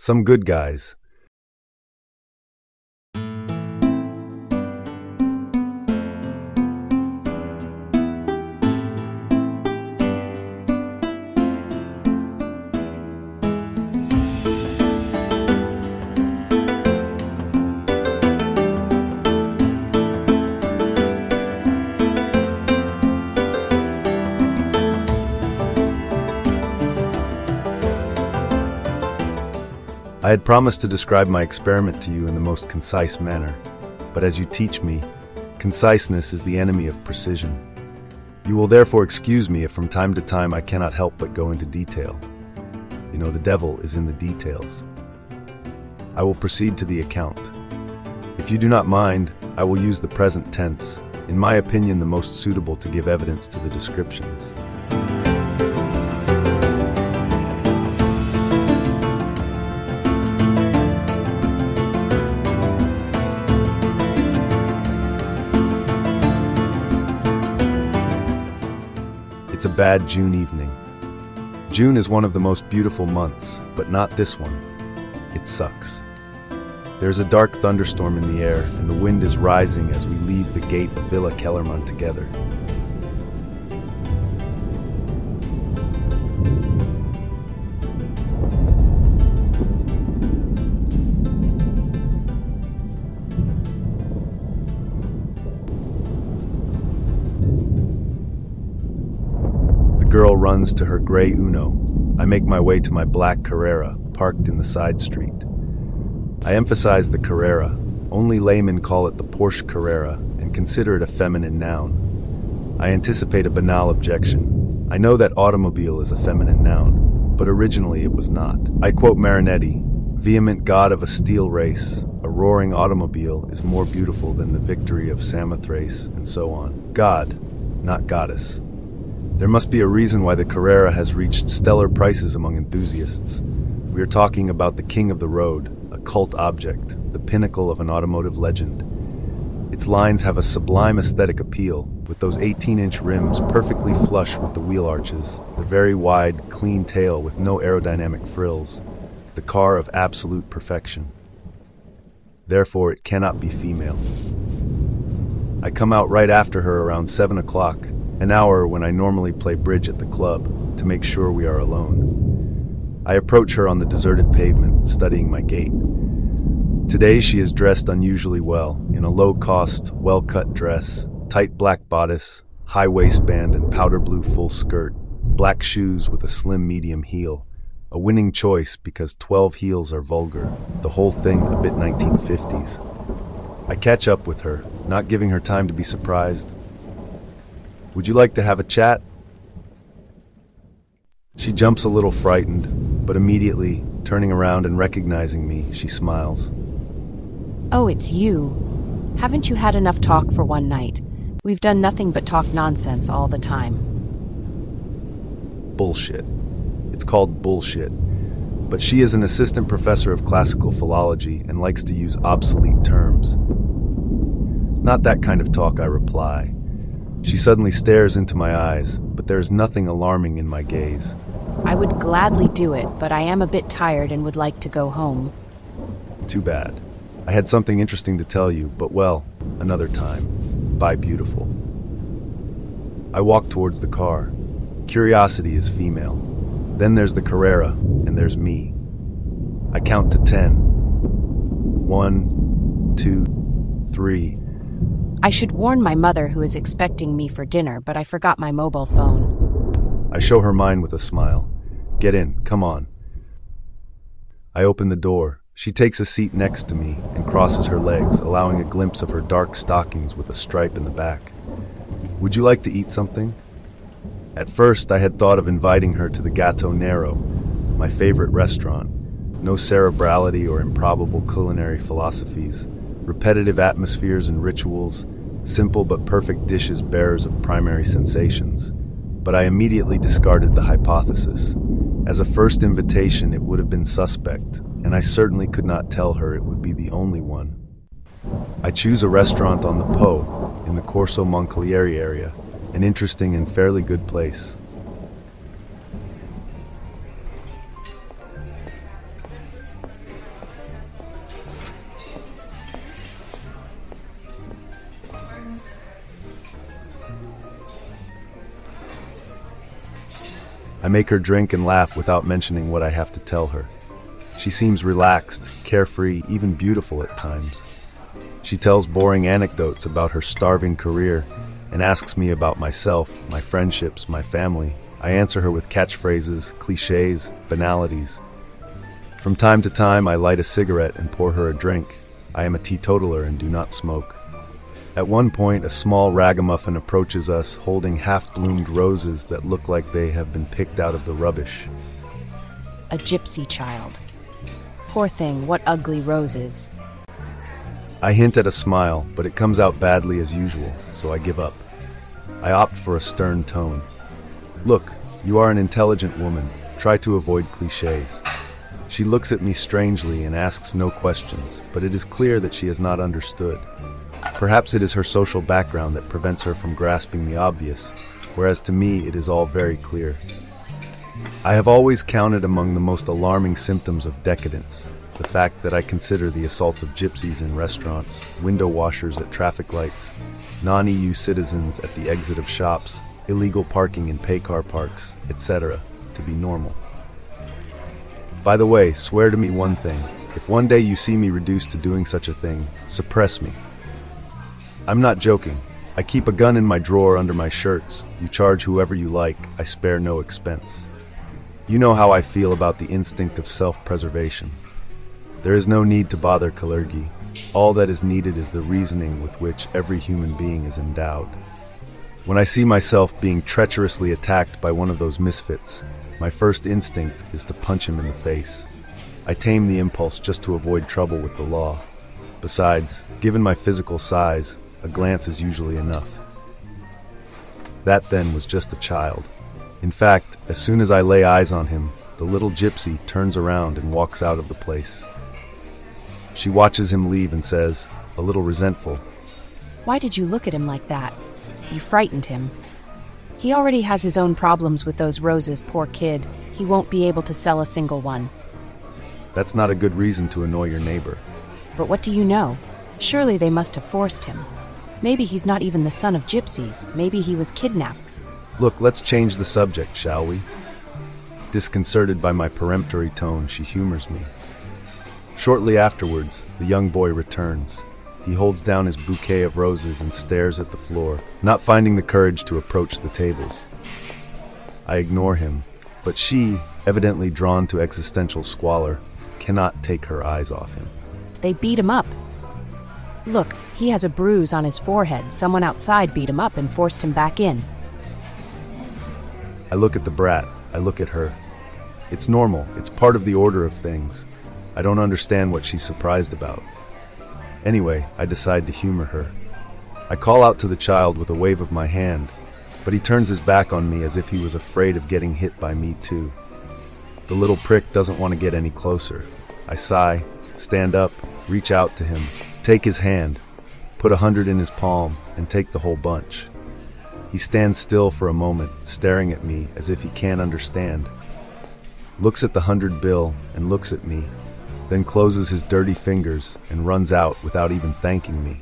Some good guys. I had promised to describe my experiment to you in the most concise manner, but as you teach me, conciseness is the enemy of precision. You will therefore excuse me if from time to time I cannot help but go into detail. You know, the devil is in the details. I will proceed to the account. If you do not mind, I will use the present tense, in my opinion the most suitable to give evidence to the descriptions. It's a bad June evening. June is one of the most beautiful months, but not this one. It sucks. There's a dark thunderstorm in the air, and the wind is rising as we leave the gate of Villa Kellerman together. The girl runs to her gray Uno. I make my way to my black Carrera, parked in the side street. I emphasize the Carrera. Only laymen call it the Porsche Carrera and consider it a feminine noun. I anticipate a banal objection. I know that automobile is a feminine noun, but originally it was not. I quote Marinetti, "Vehement god of a steel race, a roaring automobile is more beautiful than the victory of Samothrace," and so on. God, not goddess. There must be a reason why the Carrera has reached stellar prices among enthusiasts. We are talking about the king of the road, a cult object, the pinnacle of an automotive legend. Its lines have a sublime aesthetic appeal, with those 18-inch rims perfectly flush with the wheel arches, the very wide, clean tail with no aerodynamic frills, the car of absolute perfection. Therefore, it cannot be female. I come out right after her around 7 o'clock, an hour when I normally play bridge at the club, to make sure we are alone. I approach her on the deserted pavement, studying my gait. Today she is dressed unusually well, in a low-cost, well-cut dress, tight black bodice, high waistband and powder blue full skirt, black shoes with a slim medium heel. A winning choice because 12 heels are vulgar, the whole thing a bit 1950s. I catch up with her, not giving her time to be surprised. "Would you like to have a chat?" She jumps a little frightened, but immediately, turning around and recognizing me, she smiles. "Oh, it's you. Haven't you had enough talk for one night? We've done nothing but talk nonsense all the time." Bullshit. It's called bullshit. But she is an assistant professor of classical philology and likes to use obsolete terms. "Not that kind of talk," I reply. She suddenly stares into my eyes, but there is nothing alarming in my gaze. "I would gladly do it, but I am a bit tired and would like to go home." Too bad. I had something interesting to tell you, but well, another time. Bye, beautiful. I walk towards the car. Curiosity is female. Then there's the Carrera, and there's me. I count to 10. 1, 2, 3. I should warn my mother who is expecting me for dinner, but I forgot my mobile phone. I show her mine with a smile. "Get in, come on." I open the door. She takes a seat next to me and crosses her legs, allowing a glimpse of her dark stockings with a stripe in the back. "Would you like to eat something?" At first, I had thought of inviting her to the Gato Nero, my favorite restaurant. No cerebrality or improbable culinary philosophies, repetitive atmospheres and rituals, simple but perfect dishes bearers of primary sensations. But I immediately discarded the hypothesis. As a first invitation, it would have been suspect, and I certainly could not tell her it would be the only one. I choose a restaurant on the Po, in the Corso Moncalieri area, an interesting and fairly good place. I make her drink and laugh without mentioning what I have to tell her. She seems relaxed, carefree, even beautiful at times. She tells boring anecdotes about her starving career and asks me about myself, my friendships, my family. I answer her with catchphrases, cliches, banalities. From time to time, I light a cigarette and pour her a drink. I am a teetotaler and do not smoke. At one point, a small ragamuffin approaches us holding half-bloomed roses that look like they have been picked out of the rubbish. A gypsy child. Poor thing, what ugly roses. I hint at a smile, but it comes out badly as usual, so I give up. I opt for a stern tone. Look, you are an intelligent woman. Try to avoid cliches. She looks at me strangely and asks no questions, but it is clear that she has not understood. Perhaps it is her social background that prevents her from grasping the obvious, whereas to me it is all very clear. I have always counted among the most alarming symptoms of decadence the fact that I consider the assaults of gypsies in restaurants, window washers at traffic lights, non-EU citizens at the exit of shops, illegal parking in pay-car parks, etc., to be normal. By the way, swear to me one thing. If one day you see me reduced to doing such a thing, suppress me. I'm not joking. I keep a gun in my drawer under my shirts. You charge whoever you like. I spare no expense. You know how I feel about the instinct of self-preservation. There is no need to bother Kalergi. All that is needed is the reasoning with which every human being is endowed. When I see myself being treacherously attacked by one of those misfits, my first instinct is to punch him in the face. I tame the impulse just to avoid trouble with the law. Besides, given my physical size, a glance is usually enough. That then was just a child. In fact, as soon as I lay eyes on him, the little gypsy turns around and walks out of the place. She watches him leave and says, a little resentful, Why did you look at him like that? You frightened him. He already has his own problems with those roses, poor kid. He won't be able to sell a single one. That's not a good reason to annoy your neighbor. But what do you know? Surely they must have forced him. Maybe he's not even the son of gypsies. Maybe he was kidnapped. Look, let's change the subject, shall we? Disconcerted by my peremptory tone, she humors me. Shortly afterwards, the young boy returns. He holds down his bouquet of roses and stares at the floor, not finding the courage to approach the tables. I ignore him, but she, evidently drawn to existential squalor, cannot take her eyes off him. They beat him up. Look, he has a bruise on his forehead. Someone outside beat him up and forced him back in. I look at the brat. I look at her. It's normal. It's part of the order of things. I don't understand what she's surprised about. Anyway, I decide to humor her. I call out to the child with a wave of my hand, but he turns his back on me as if he was afraid of getting hit by me too. The little prick doesn't want to get any closer. I sigh, stand up, reach out to him, take his hand, put 100 in his palm, and take the whole bunch. He stands still for a moment, staring at me as if he can't understand. Looks at the 100 bill and looks at me, then closes his dirty fingers and runs out without even thanking me.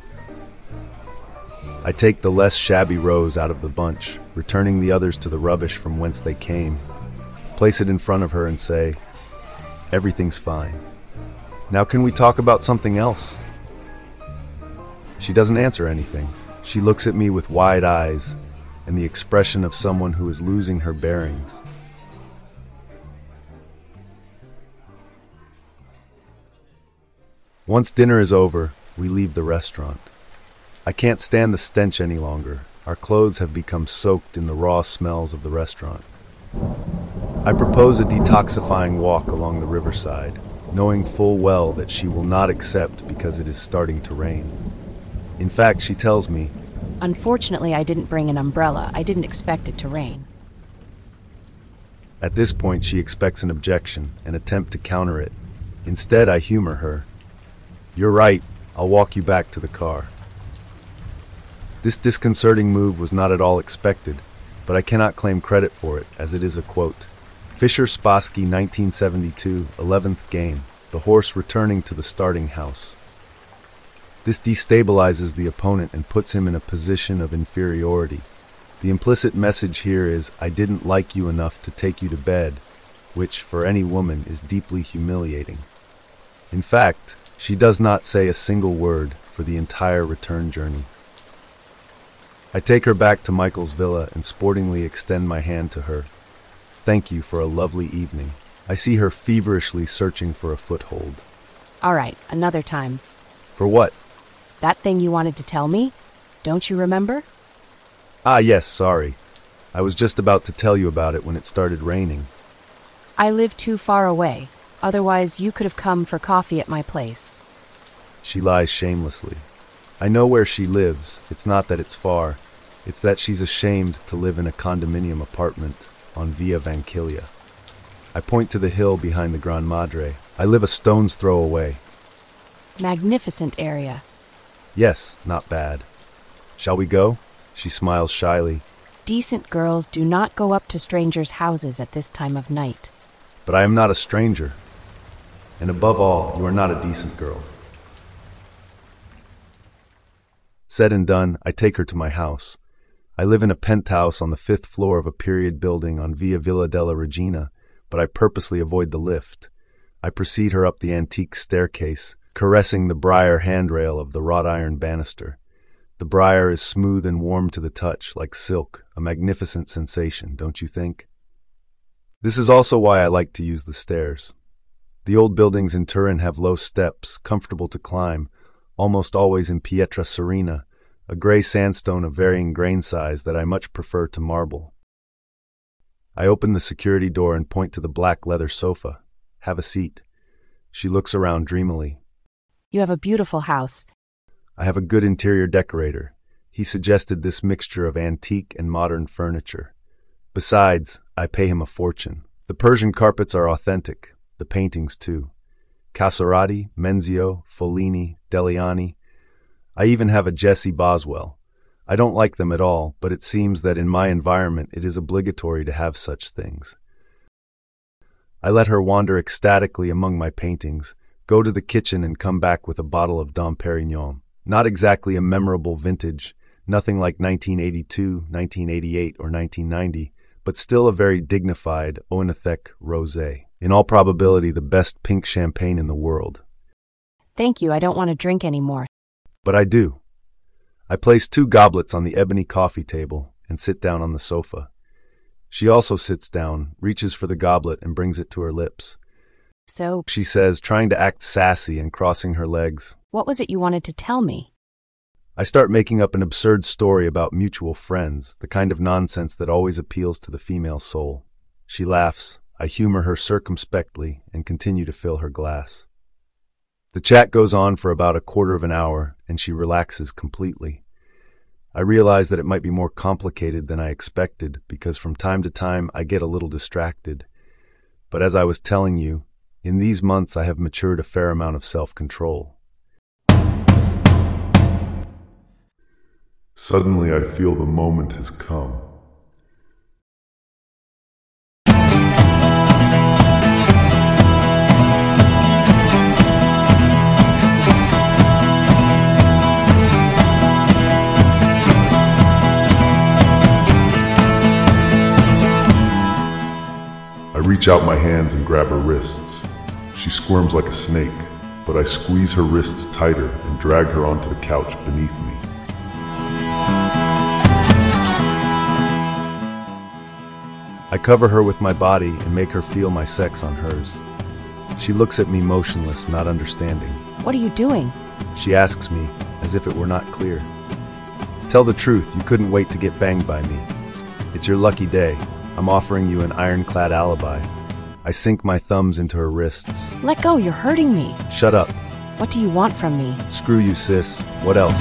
I take the less shabby rose out of the bunch, returning the others to the rubbish from whence they came, place it in front of her and say, "Everything's fine. Now can we talk about something else?" She doesn't answer anything. She looks at me with wide eyes and the expression of someone who is losing her bearings. Once dinner is over, we leave the restaurant. I can't stand the stench any longer. Our clothes have become soaked in the raw smells of the restaurant. I propose a detoxifying walk along the riverside, knowing full well that she will not accept because it is starting to rain. In fact, she tells me, Unfortunately, I didn't bring an umbrella. I didn't expect it to rain. At this point, she expects an objection, an attempt to counter it. Instead, I humor her. "You're right, I'll walk you back to the car." This disconcerting move was not at all expected, but I cannot claim credit for it, as it is a quote. Fischer Spassky, 1972, 11th game, the horse returning to the starting house. This destabilizes the opponent and puts him in a position of inferiority. The implicit message here is, I didn't like you enough to take you to bed, which, for any woman, is deeply humiliating. In fact, she does not say a single word for the entire return journey. I take her back to Michael's villa and sportingly extend my hand to her. Thank you for a lovely evening. I see her feverishly searching for a foothold. All right, another time. For what? That thing you wanted to tell me? Don't you remember? Ah, yes, sorry. I was just about to tell you about it when it started raining. I live too far away. Otherwise, you could have come for coffee at my place. She lies shamelessly. I know where she lives. It's not that it's far. It's that she's ashamed to live in a condominium apartment on Via Vanquilia. I point to the hill behind the Gran Madre. I live a stone's throw away. Magnificent area. Yes, not bad. Shall we go? She smiles shyly. Decent girls do not go up to strangers' houses at this time of night. But I am not a stranger. And above all, you are not a decent girl. Said and done, I take her to my house. I live in a penthouse on the 5th floor of a period building on Via Villa della Regina, but I purposely avoid the lift. I precede her up the antique staircase, caressing the briar handrail of the wrought iron banister. The briar is smooth and warm to the touch, like silk, a magnificent sensation, don't you think? This is also why I like to use the stairs. The old buildings in Turin have low steps, comfortable to climb, almost always in pietra serena, a gray sandstone of varying grain size that I much prefer to marble. I open the security door and point to the black leather sofa. Have a seat. She looks around dreamily. You have a beautiful house. I have a good interior decorator. He suggested this mixture of antique and modern furniture. Besides, I pay him a fortune. The Persian carpets are authentic, the paintings too. Casorati, Menzio, Follini, Deliani. I even have a Jessie Boswell. I don't like them at all, but it seems that in my environment it is obligatory to have such things. I let her wander ecstatically among my paintings, go to the kitchen and come back with a bottle of Dom Perignon. Not exactly a memorable vintage, nothing like 1982, 1988, or 1990, but still a very dignified Oenethec rosé. In all probability, the best pink champagne in the world. Thank you, I don't want to drink anymore. But I do. I place 2 goblets on the ebony coffee table and sit down on the sofa. She also sits down, reaches for the goblet, and brings it to her lips. So, She says, trying to act sassy and crossing her legs. what was it you wanted to tell me? I start making up an absurd story about mutual friends, the kind of nonsense that always appeals to the female soul. She laughs. I humor her circumspectly and continue to fill her glass. The chat goes on for about a quarter of an hour, and she relaxes completely. I realize that it might be more complicated than I expected, because from time to time I get a little distracted. But as I was telling you, in these months I have matured a fair amount of self-control. Suddenly I feel the moment has come. I reach out my hands and grab her wrists. She squirms like a snake, but I squeeze her wrists tighter and drag her onto the couch beneath me. I cover her with my body and make her feel my sex on hers. She looks at me motionless, not understanding. What are you doing? She asks me, as if it were not clear. Tell the truth, you couldn't wait to get banged by me. It's your lucky day. I'm offering you an ironclad alibi. I sink my thumbs into her wrists. Let go, you're hurting me. Shut up. What do you want from me? Screw you, sis. What else?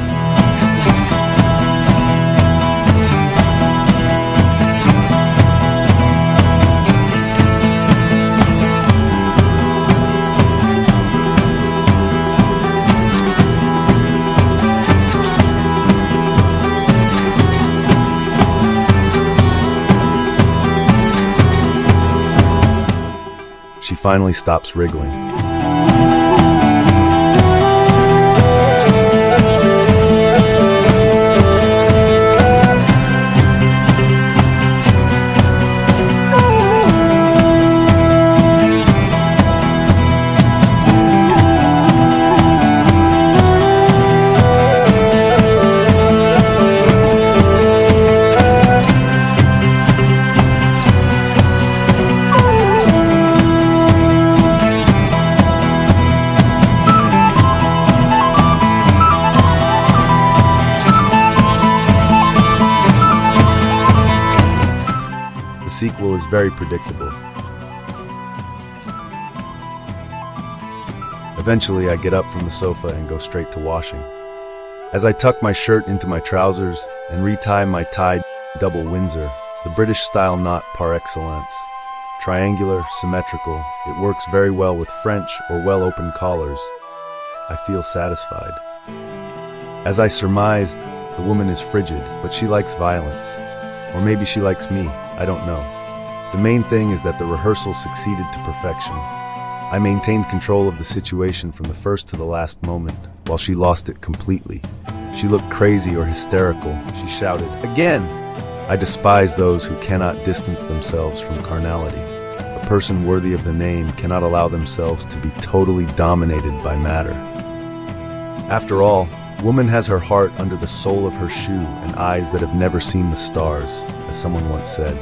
She finally stops wriggling. sequel is very predictable. Eventually, I get up from the sofa and go straight to washing. As I tuck my shirt into my trousers and retie my tied double Windsor, the British-style knot par excellence, triangular, symmetrical, it works very well with French or well-opened collars. I feel satisfied. As I surmised, the woman is frigid, but she likes violence. Or maybe she likes me, I don't know. The main thing is that the rehearsal succeeded to perfection. I maintained control of the situation from the first to the last moment, while she lost it completely. She looked crazy or hysterical. She shouted, "Again!" I despise those who cannot distance themselves from carnality. A person worthy of the name cannot allow themselves to be totally dominated by matter. After all, woman has her heart under the sole of her shoe and eyes that have never seen the stars, as someone once said.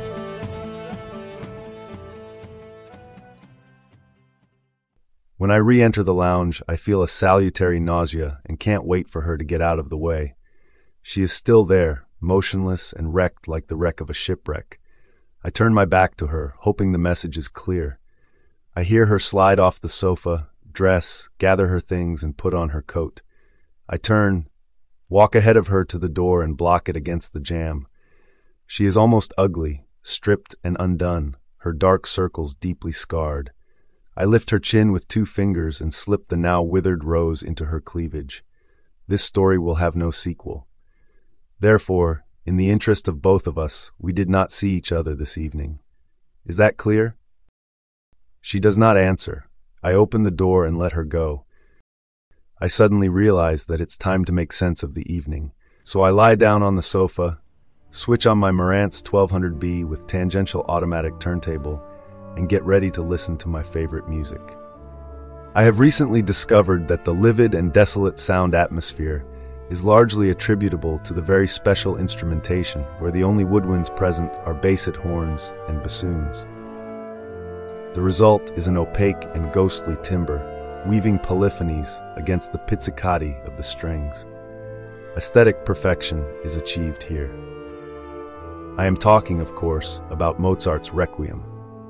When I re-enter the lounge, I feel a salutary nausea and can't wait for her to get out of the way. She is still there, motionless and wrecked like the wreck of a shipwreck. I turn my back to her, hoping the message is clear. I hear her slide off the sofa, dress, gather her things, and put on her coat. I turn, walk ahead of her to the door and block it against the jamb. She is almost ugly, stripped and undone, her dark circles deeply scarred. I lift her chin with 2 fingers and slip the now withered rose into her cleavage. This story will have no sequel. Therefore, in the interest of both of us, we did not see each other this evening. Is that clear? She does not answer. I open the door and let her go. I suddenly realize that it's time to make sense of the evening. So I lie down on the sofa, switch on my Marantz 1200B with tangential automatic turntable, and get ready to listen to my favorite music. I have recently discovered that the livid and desolate sound atmosphere is largely attributable to the very special instrumentation where the only woodwinds present are basset horns and bassoons. The result is an opaque and ghostly timbre, weaving polyphonies against the pizzicati of the strings. Aesthetic perfection is achieved here. I am talking, of course, about Mozart's Requiem.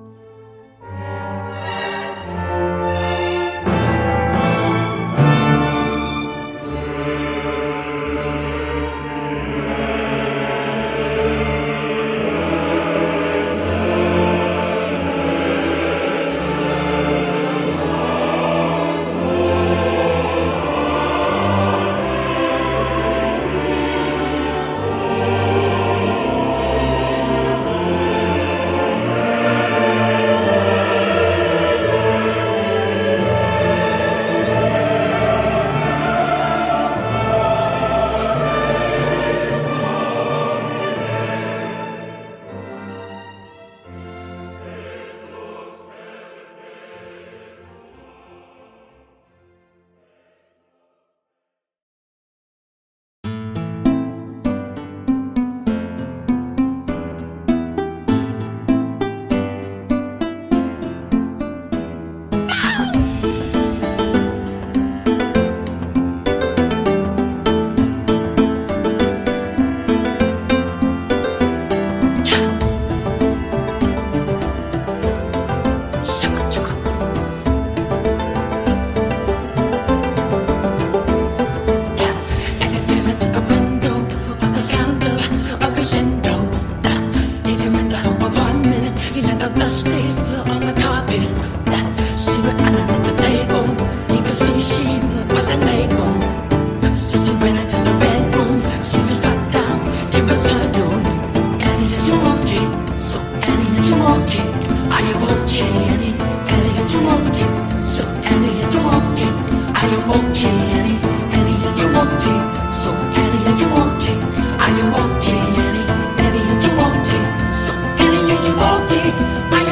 Stays on the carpet. She went under the table. You could see she wasn't able. So she went into the bedroom. She was dropped down. It was her doom. Annie, are you okay? So Annie, are you okay? Are you okay, Annie? Annie, are you okay? So Annie, are you okay? Are you okay, Annie? Annie, are you okay? So Annie, are you okay? Are you okay, Annie? Annie, are you okay? So Annie, are you okay?